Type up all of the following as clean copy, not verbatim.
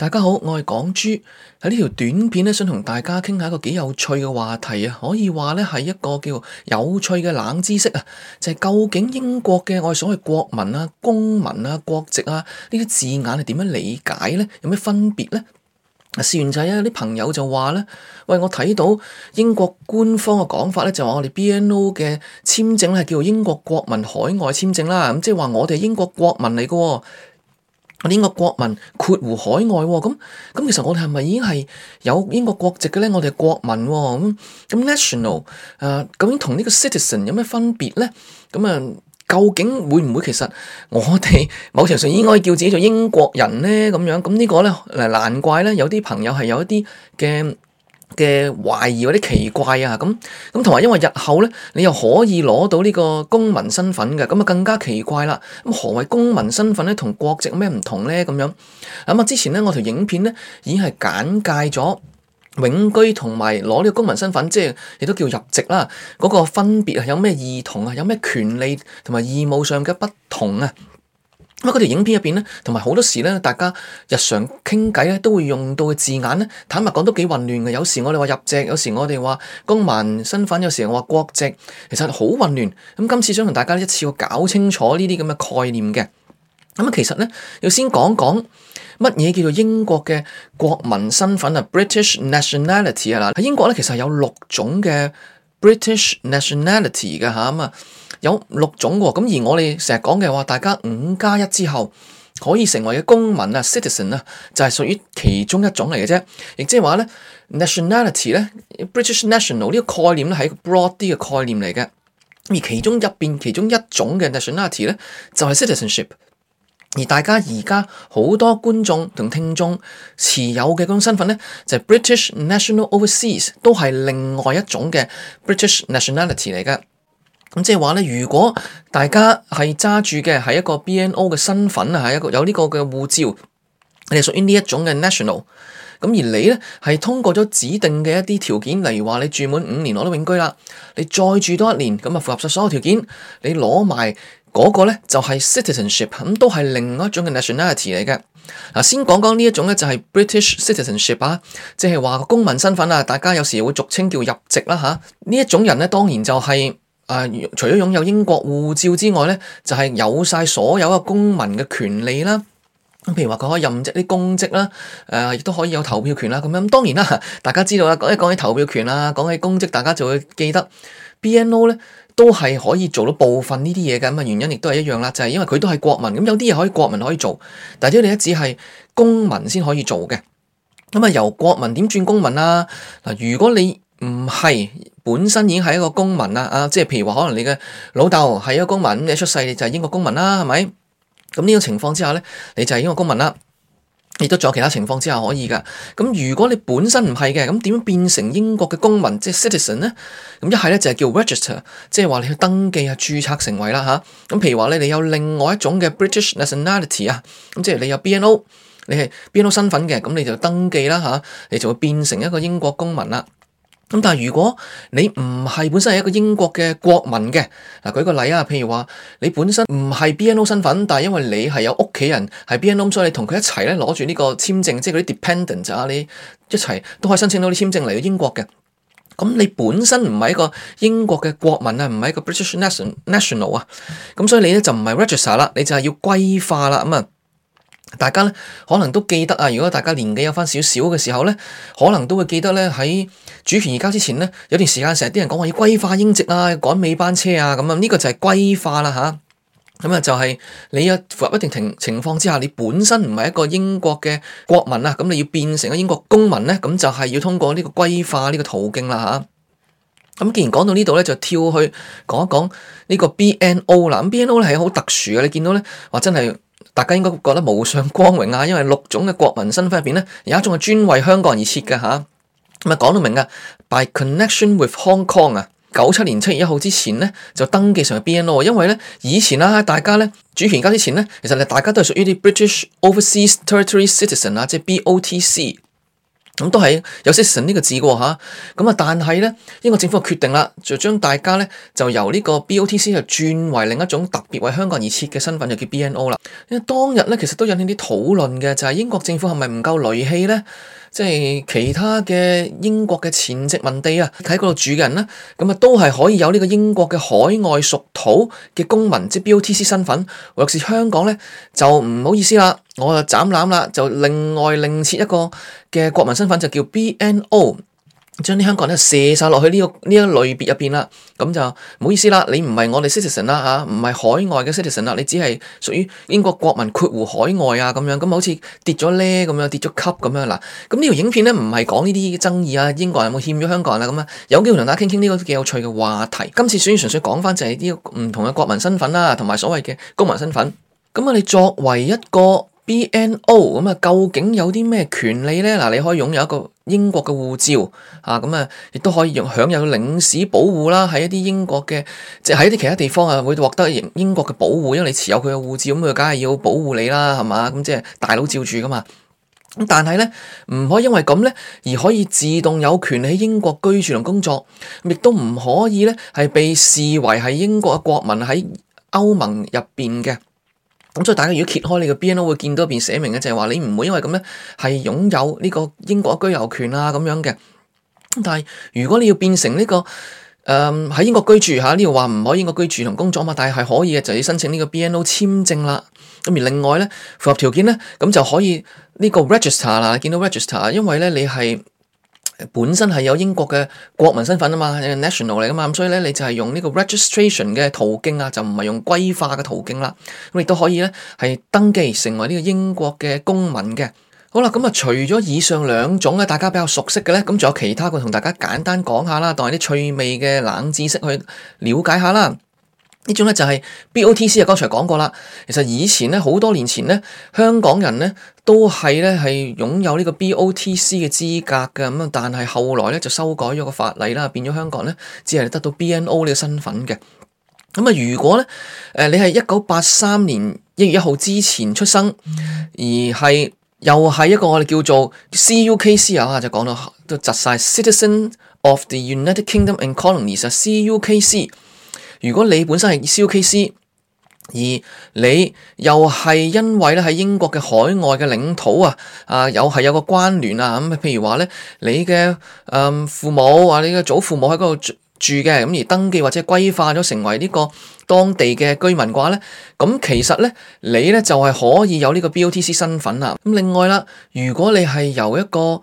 大家好，我係港豬。喺呢條短片咧，想同大家傾下一個幾有趣嘅話題啊，可以話咧係一個叫有趣嘅冷知識啊，就係究竟英國嘅我哋所謂國民啊、公民啊、國籍啊呢啲字眼係點樣理解咧？有咩分別咧？試完就係有啲朋友就話咧，喂，我睇到英國官方嘅講法咧，就話我哋 BNO 嘅簽證係叫做英國國民海外簽證啦，咁即係話我哋係英國國民嚟嘅。我哋英國國民括弧海外喎，咁其實我哋係咪已經係有英國國籍嘅咧？我哋係國民喎，咁 national 究竟同呢個 citizen 有咩分別咧？究竟會唔會其實我哋某程度上應該叫自己做英國人咧？咁呢個咧難怪咧有啲朋友係有一啲嘅懷疑或者奇怪啊，咁同埋因為日後咧你又可以攞到呢個公民身份嘅，咁更加奇怪啦。咁何謂公民身份咧？同國籍有咩唔同咧？之前咧我條影片咧已經係簡介咗永居同埋攞呢個公民身份，即係亦都叫入籍啦，嗰個分別啊，有咩異同啊，有咩權利同埋義務上嘅不同啊。咁嗰條影片入邊咧，同埋好多時咧，大家日常傾偈咧都會用到嘅字眼咧，坦白講都幾混亂嘅。有時我哋話入籍，有時我哋話公民身份，有時我話國籍，其實好混亂。咁今次想同大家一次過搞清楚呢啲咁嘅概念嘅。其實咧要先講講乜嘢叫做英國嘅國民身份啊 ，British nationality 啊。嗱，喺英國咧其實有6種嘅 British nationality 嘅嚇，有6種喎，而我哋成日講嘅話，大家5+1之後可以成為嘅公民啊 ，citizen 啊，就係屬於其中一種嚟嘅啫。亦即係話咧 ，nationality 咧 ，British national 呢個概念咧係一個 broad 啲嘅概念嚟嘅。而其中一種嘅 nationality 咧，就係 citizenship。而大家而家好多觀眾同聽眾持有嘅嗰種身份咧，就係 British National Overseas， 都係另外一種嘅 British nationality 嚟嘅。咁即係話咧，如果大家係揸住嘅係一個 BNO 嘅身份啊，係一個有呢個嘅護照，你係屬於呢一種嘅 national。咁而你咧係通過咗指定嘅一啲條件，例如話你住滿5年攞到永居啦，你再住多1年，咁符合晒所有條件，你攞埋嗰個咧就係 citizenship， 咁都係另外一種嘅 nationality 嚟嘅。嗱，先講講呢一種咧就係 British citizenship 啊，即係話公民身份啊，大家有時會俗稱叫入籍啦嚇。呢一種人咧當然就係除咗擁有英國護照之外咧，就係有晒所有嘅公民嘅權利啦。咁譬如話佢可以任職啲公職啦，亦都可以有投票權啦。咁當然啦，大家知道啦，講起投票權啦，講起公職，大家就會記得 BNO 咧都係可以做到部分呢啲嘢嘅。咁原因亦都係一樣啦，就係因為佢都係國民。咁有啲嘢可以國民可以做，但係你只係公民先可以做嘅。由國民點轉公民啊？嗱，如果你唔係本身已經係一個公民啦，即係譬如話可能你嘅老豆係一個公民，你出世你就係英國公民啦，係咪？咁呢個情況之下咧，你就係英國公民啦。亦都仲有其他情況之下可以噶。咁如果你本身唔係嘅，咁點樣變成英國嘅公民，即係 citizen 咧？咁一係咧就係叫 register， 即係話你去登記啊，註冊成為啦嚇。咁譬如話咧，你有另外一種嘅 British nationality 啊，咁即係你有 BNO， 你係 BNO 身份嘅，咁你就登記啦嚇，你就會變成一個英國公民啦。咁但係如果你唔係本身係一個英國嘅國民嘅，舉個例啊，譬如話你本身唔係 BNO 身份，但係因為你係有屋企人係 BNO，所以你同佢一齊咧攞住呢個簽證，即係嗰啲 dependent 啊，你一齊都可以申請到啲簽證嚟到英國嘅。咁你本身唔係一個英國嘅國民啊，唔係一個 British national 啊，咁所以你咧就唔係 register 啦，你就係要歸化啦。大家咧可能都記得啊，如果大家年紀有翻少少嘅時候咧，可能都會記得咧喺主權移交之前咧，有段時間成日啲人講話要歸化英籍啊，趕尾班車啊，呢個就係歸化啦吓。就係你有符合一定情況之下，你本身唔係一個英國嘅國民啊，咁你要變成一個英國公民咧，咁就係要通過呢個歸化呢個途徑啦吓。既然講到呢度咧，就跳去講一講呢個 BNO 啦。咁 BNO 咧係好特殊嘅，你見到咧話真係。大家應該覺得無上光榮啊，因為6種嘅國民身份入邊咧，有一種係專為香港人而設嘅吓。講到明噶 ，by connection with Hong Kong 啊，97年7月1號之前咧就登記成為 BNO， 因為咧以前啦，大家咧主權移交之前咧，其實大家都係屬於啲 British Overseas Territory Citizen 啊，即係 BOTC。 咁都係有 citizen 呢個字嘅吓，咁啊，但係咧英國政府就決定啦，就將大家咧就由呢個 BOTC 就轉為另一種特別為香港而設嘅身份，就叫 BNO 啦。因為當日咧其實都引起啲討論嘅，就係英國政府係咪唔夠戾氣咧？即係其他嘅英國嘅前殖民地啊，喺嗰度住嘅人咧，咁啊都係可以有呢個英國嘅海外屬土嘅公民，即係 BOTC 身份。或是香港咧就唔好意思啦，我就斬纜啦，就另外另設一個嘅國民身份，就叫 BNO。將啲香港人射晒落去呢一類別入邊啦，咁就唔好意思啦，你唔係我哋 citizen 啦吓，唔係海外嘅 citizen 啦，你只係屬於英國國民括弧海外啊咁樣，咁好似跌咗咧咁樣，跌咗級咁樣嗱。咁呢條影片咧唔係講呢啲爭議啊，英國人有冇欠咗香港人啊咁啊，有機會同大家傾傾呢個幾有趣嘅話題。今次純粹講翻就係呢個唔同嘅國民身份啦，同埋所謂嘅公民身份。咁啊，你作為一個BNO 咁啊，究竟有啲咩權利咧？嗱，你可以擁有一個英國嘅護照啊，咁啊，亦都可以享有領事保護啦。喺一啲英國嘅，即係喺一啲其他地方啊，會獲得英國嘅保護，因為你持有佢嘅護照，咁佢梗係要保護你啦，係嘛？咁即係大佬照住噶嘛。咁但係咧，唔可以因為咁咧而可以自動有權喺英國居住同工作，亦都唔可以咧係被視為係英國嘅國民喺歐盟入邊嘅。咁所以大家如果揭開你個 BNO 會見到入邊寫明嘅就係話你唔會因為咁咧係擁有呢個英國居留權啊咁樣嘅。但係如果你要變成呢個喺英國居住吓，呢度話唔可以英國居住同工作嘛，但係可以嘅就要申請呢個 BNO 簽證啦。咁而另外咧符合條件咧，咁就可以呢個 register 啦，見到 register， 因為咧你係本身係有英國嘅國民身份啊嘛，係 national 嚟噶嘛，咁所以咧你就係用呢個 registration 嘅途徑啊，就唔係用歸化嘅途徑啦。咁亦都可以咧係登記成為呢個英國嘅公民嘅。好啦，咁啊除咗以上兩種咧，大家比較熟悉嘅咧，咁仲有其他嘅同大家簡單講下啦，當係啲趣味嘅冷知識去了解下啦。呢種咧就係 BOTC 啊，剛才講過啦。其實以前咧好多年前咧，香港人咧都係擁有呢個 BOTC 嘅資格嘅，咁啊，但係後來咧就修改咗個法例啦，變咗香港人咧只係得到 BNO 呢個身份嘅。咁啊，如果咧你係1983年1月1號之前出生，而係又係一個我哋叫做 CUKC 啊，就講到都窒晒 Citizen of the United Kingdom and Colonies 啊 CUKC。如果你本身係 CUKC， 而你又係因為咧喺英國嘅海外嘅領土又係有個關聯啊，咁譬如話咧你嘅父母你嘅祖父母喺嗰度住嘅，咁而登記或者歸化咗成為呢個當地嘅居民嘅話咧，咁其實咧你咧就係可以有呢個 BOTC 身份啦。咁另外啦，如果你係由一個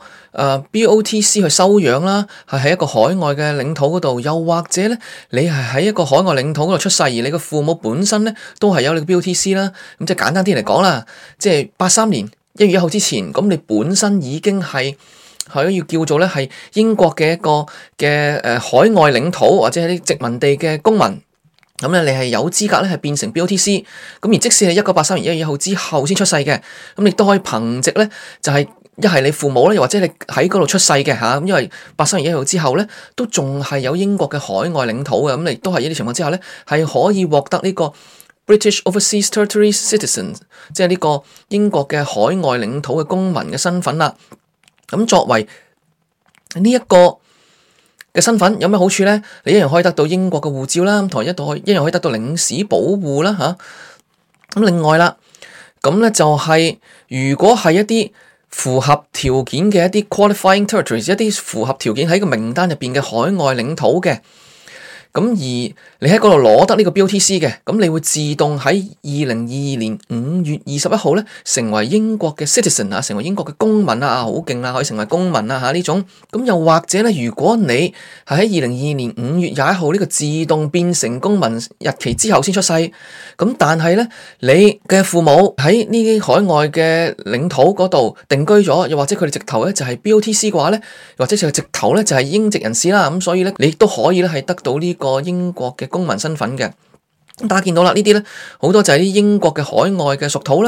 BOTC 去收養啦，係喺一個海外嘅領土嗰度，又或者咧你係喺一個海外領土嗰度出世，而你嘅父母本身咧都係有你個 BOTC 啦。咁即係簡單啲嚟講啦，即係83年1月1號之前，咁你本身已經係要叫做咧係英國嘅一個嘅海外領土或者係啲殖民地嘅公民，咁咧你係有資格咧係變成 BOTC。咁而即使係1983年1月1號之後先出世嘅，咁你都可以憑藉咧就係一係你父母咧，又或者你喺嗰度出世嘅吓，因為83年1月1號之後咧都仲係有英國嘅海外領土嘅，咁你都係呢啲情況之下咧係可以獲得呢個 British Overseas Territory Citizen， 即係呢個英國嘅海外領土嘅公民嘅身份啦。咁作為呢一個嘅身份有咩好處咧？你一樣可以得到英國嘅護照啦，同埋一樣可以得到領事保護啦吓。咁另外啦，咁咧就係如果係一啲符合條件嘅一啲 qualifying territories， 一啲符合條件喺個名單入邊嘅海外領土嘅，咁而你喺嗰度攞得呢個 BOTC 嘅，咁你會自動喺2022年5月21號咧成為英國嘅 citizen 成為英國嘅公民好勁啦，可以成為公民呢種。咁又或者咧，如果你係喺2022年5月21號呢個自動變成公民日期之後先出世，咁但係咧你嘅父母喺呢啲海外嘅領土嗰度定居咗，又或者佢哋直頭咧就係 BOTC 嘅話咧，或者佢直頭咧就係英籍人士啦，咁所以咧你亦都可以咧係得到呢個英國嘅公民身份嘅。大家見到啦，呢啲咧好多就係啲英國嘅海外嘅屬土啦，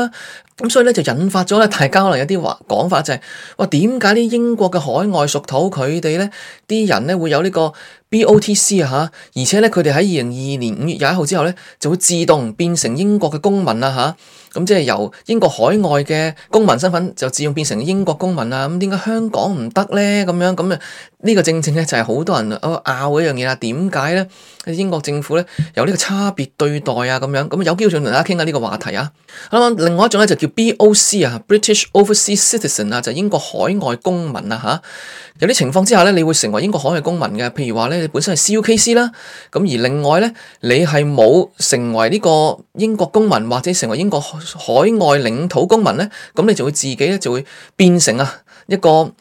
咁所以咧就引發咗咧，大家可能有啲講法就係話點解啲英國嘅海外屬土佢哋咧啲人咧會有呢個 BOTC 啊嚇，而且咧佢哋喺2022年5月21號之後咧就會自動變成英國嘅公民啦嚇，咁即係由英國海外嘅公民身份就自動變成英國公民啊，咁點解香港唔得咧？咁樣咁啊呢個正正咧就係好多人拗嘅一樣嘢啦。點解咧英國政府咧有呢個差別對待啊？咁樣咁有機會同大家傾下呢個話題啊。咁另外一種咧就叫 BOC 啊 ，British Overseas Citizen 啊，就英國海外公民啊嚇。有啲情況之下咧，你會成為英國海外公民嘅，譬如話咧，你本身係 CUKC 啦，咁而另外咧，你係冇成為呢個英國公民或者成為英國海外領土公民咧，咁你就會自己咧就會變成一個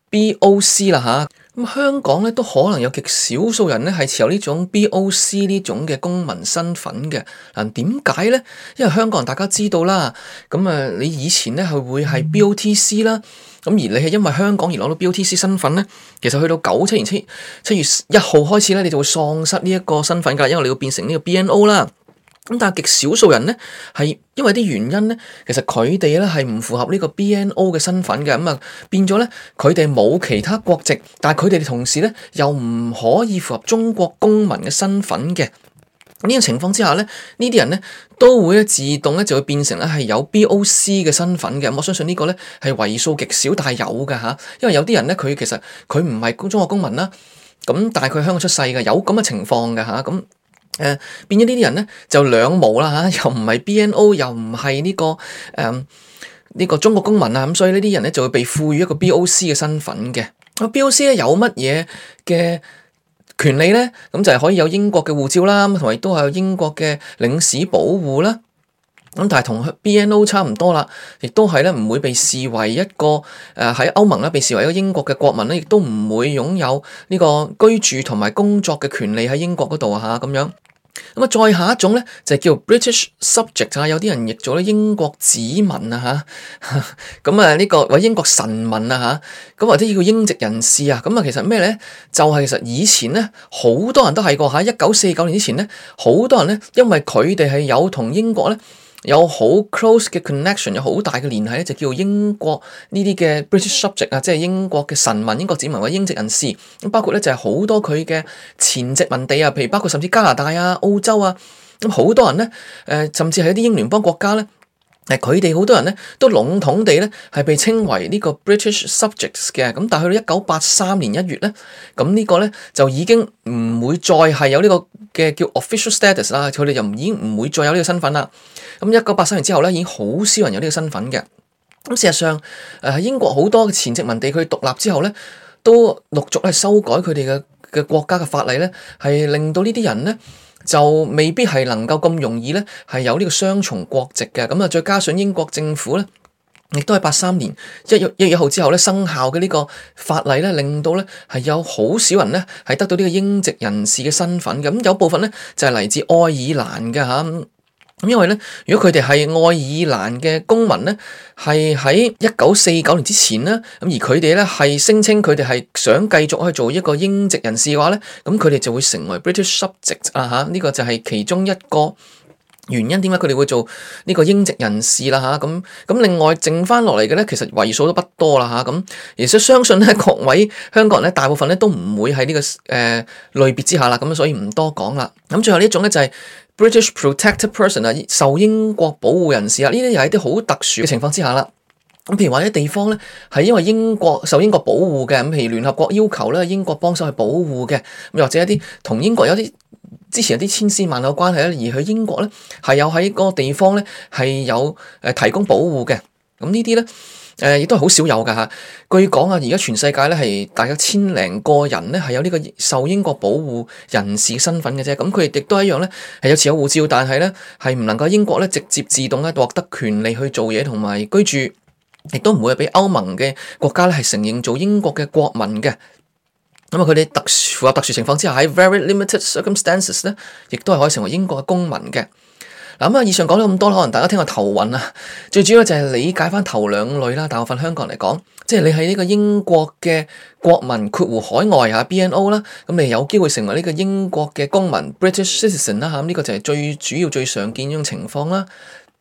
BOC 啦嚇。咁香港咧都可能有極少數人咧係持有呢種 BOC 呢種嘅公民身份嘅。嗱，點解咧？因為香港人大家知道啦，咁你以前咧係會係 BOTC 啦。咁而你係因為香港而攞到 BOTC 身份咧，其實去到97年7月1號開始咧，你就會喪失呢一個身份㗎，因為你要變成呢個 BNO 啦。咁但係極少數人咧係因為啲原因咧，其實佢哋咧係唔符合呢個 BNO 嘅身份嘅，咁變咗咧佢哋冇其他國籍，但係佢哋同時咧又唔可以符合中國公民嘅身份嘅。呢個情況之下咧，呢啲人咧都會自動咧就會變成咧係有 BOC 嘅身份嘅。我相信呢個咧係為數極少，但係有㗎嚇。因為有啲人咧佢其實佢唔係中國公民啦，咁但係佢喺香港出世嘅，有咁嘅情況㗎嚇。咁變咗呢啲人咧就兩無啦嚇，又唔係 BNO，又唔係呢個中國公民啊。咁所以呢啲人咧就會被賦予一個 BOC 嘅身份嘅。BOC 咧有乜嘢嘅權利咧？咁就係可以有英國嘅護照啦，同埋亦都係有英國嘅領事保護啦。咁但係同 BNO 差唔多啦，亦都係咧唔會被視為一個喺歐盟咧被視為一個英國嘅國民咧，亦都唔會擁有呢個居住同埋工作嘅權利喺英國嗰度啊嚇咁樣。咁再下一種咧就係叫 British Subject 啊，有啲人譯做咧英國子民啊嚇，咁呢個或者英國臣民啊嚇，咁或者叫英籍人士啊，咁其實咩咧？就係其實以前咧好多人都係過喺1949年之前咧，好多人咧因為佢哋係有同英國咧有好 close 嘅 connection， 有好大嘅聯繫咧，就叫英國呢啲嘅 British subject 啊，即係英國嘅臣民、英國子民或者英籍人士。咁包括咧就係好多佢嘅前殖民地啊，譬如包括甚至加拿大啊、澳洲啊，咁好多人咧，甚至係一啲英聯邦國家咧。佢哋好多人咧都籠統地咧係被稱為呢個 British subjects 嘅，咁但係去到1983年1月咧，咁呢個咧就已經唔會再係有呢個嘅叫 official status 啦，佢哋就已經唔會再有呢個身份啦。咁1983年之後咧，已經好少人有呢個身份嘅。咁事實上，英國好多前殖民地佢獨立之後咧，都陸續係修改佢哋嘅國家嘅法例咧，係令到呢啲人咧，就未必係能夠咁容易咧，係有呢個雙重國籍嘅。咁再加上英國政府咧，亦都係83年1月1號之後咧生效嘅呢個法例咧，令到咧係有好少人咧係得到呢個英籍人士嘅身份嘅。咁有部分咧就係嚟自愛爾蘭嘅嚇。咁因為咧，如果佢哋係愛爾蘭嘅公民咧，係喺1949年之前咧，咁而佢哋咧係聲稱佢哋係想繼續去做一個英籍人士嘅話咧，咁佢哋就會成為 British subject 啊嚇，呢個就係其中一個原因，點解佢哋會做呢個英籍人士啦嚇。咁另外剩翻落嚟嘅咧，其實為數都不多啦嚇。咁而且相信咧，各位香港人咧，大部分咧都唔會喺呢個類別之下啦。咁所以唔多講啦。咁最後呢一種咧就係British Protected Person 啊，受英國保護人士啊，呢啲又係啲好特殊嘅情況之下啦。咁譬如話啲地方咧係因為受英國保護嘅，咁譬如聯合國要求咧英國幫手去保護嘅，咁或者一啲同英國有啲之前有啲千絲萬縷關係咧，而去英國咧係有喺嗰個地方咧係有提供保護嘅，咁呢啲咧。亦都係好少有㗎嚇。據講啊，而家全世界咧係大約1000零個人咧係有呢個受英國保護人士身份嘅啫。咁佢哋亦都一樣咧係有持有護照，但係咧係唔能夠英國咧直接自動咧獲得權利去做嘢同埋居住，亦都唔會係俾歐盟嘅國家咧係承認做英國嘅國民嘅。咁佢哋符合特殊情況之下，喺 very limited circumstances 咧，亦都係可以成為英國嘅公民嘅。嗱，以上講咗咁多，可能大家聽個頭暈啊。最主要就係理解翻頭兩類啦。大部分香港人嚟講，即係你係呢個英國嘅國民括弧海外嚇 BNO 啦，咁你有機會成為呢個英國嘅公民 British citizen 啦嚇。呢個就係最主要最常見呢種情況啦。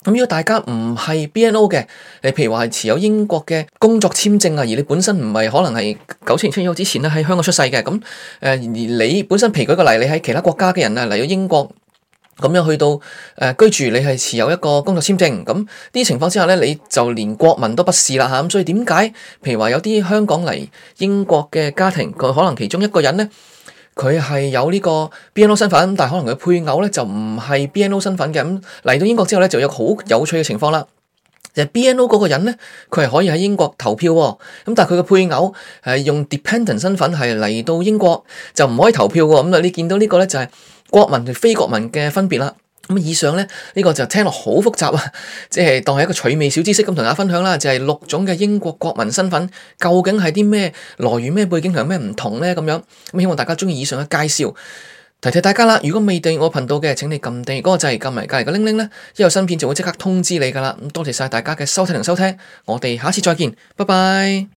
咁如果大家唔係 BNO 嘅，你譬如話係持有英國嘅工作簽證啊，而你本身唔係可能係97年出生之前咧喺香港出世嘅，咁而你本身譬如舉個例，你喺其他國家嘅人啊嚟到英國咁樣去到居住，你係持有一個工作簽證，咁呢啲情況之下咧，你就連國民都不是啦嚇。咁所以點解譬如話有啲香港嚟英國嘅家庭，佢可能其中一個人咧，佢係有呢個 BNO 身份，但係可能佢配偶咧就唔係 BNO 身份嘅。咁嚟到英國之後咧，就有好有趣嘅情況啦。就係 BNO 嗰個人咧，佢係可以喺英國投票喎。咁但係佢嘅配偶係用 dependent 身份係嚟到英國就唔可以投票喎。咁啊，你見到呢個咧就係國民同非國民嘅分別啦。咁以上咧呢個就聽落好複雜啊，即係當係一個趣味小知識咁同大家分享啦。就係6種嘅英國國民身份究竟係啲咩來源、咩背景同有咩唔同咧咁樣。咁希望大家中意以上嘅介紹。提提大家啦，如果未訂閱我頻道嘅，請你撳訂閱嗰個掣，撳埋隔籬個鈴鈴咧，一有新片就會即刻通知你噶啦。咁多謝晒大家嘅收睇同收聽，我哋下次再見，拜拜。